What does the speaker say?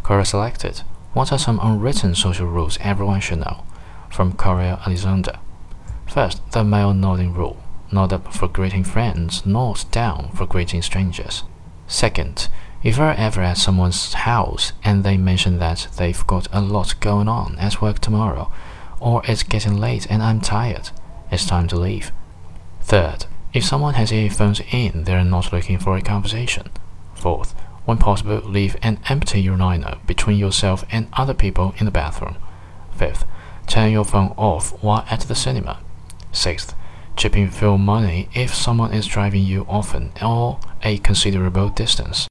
Quora selected. What are some unwritten social rules everyone should know? From Korea Alexander. First, the male nodding rule. Nod up for greeting friends, nod down for greeting strangers. Second, if you're ever at someone's house and they mention that they've got a lot going on at work tomorrow, or it's getting late and I'm tired, it's time to leave. Third, if someone has earphones in, they're not looking for a conversation. Fourth, when possible, leave an empty urinal between yourself and other people in the bathroom. Fifth, turn your phone off while at the cinema. Sixth, chip in fuel money if someone is driving you often or a considerable distance.